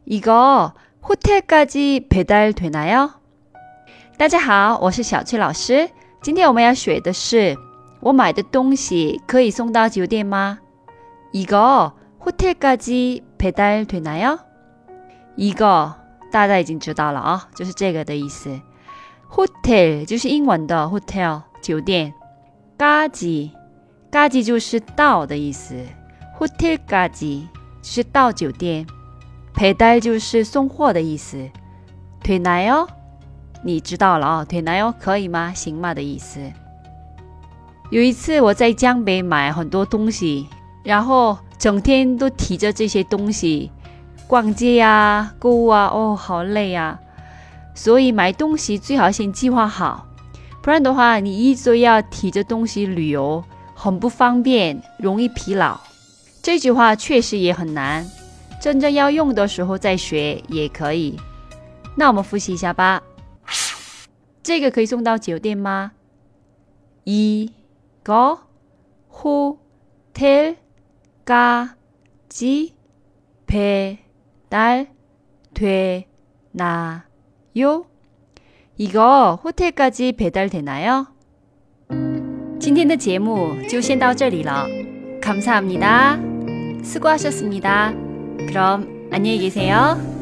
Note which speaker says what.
Speaker 1: 이거 호텔까지 배달되나요? 大家好，我是小翠老师。今天我们要学的是我买的东西可以送到酒店吗？ 이거 호텔까지 배달되나요? 이거大家已经知道了啊，就是这个的意思。hotel 就是英文的 hotel 酒店，까지就是到的意思， 호텔까지就是到酒店， 배달就是送货的意思， 되나요你知道了啊， 되나요可以吗？行吗的意思。有一次我在江北买很多东西，然后整天都提着这些东西逛街啊购物啊，好累啊。所以买东西最好先计划好，不然的话你一直要提着东西旅游，很不方便，容易疲劳。这句话确实也很难，真正要用的时候再学也可以。那我们复习一下吧。这个可以送到酒店吗？ 이거 호텔까지 배달되나요? 이거 호텔까지 배달되나요? 今天的节目就先到这里了。 감사합니다. 수고하셨습니다. 그럼 안녕히 계세요.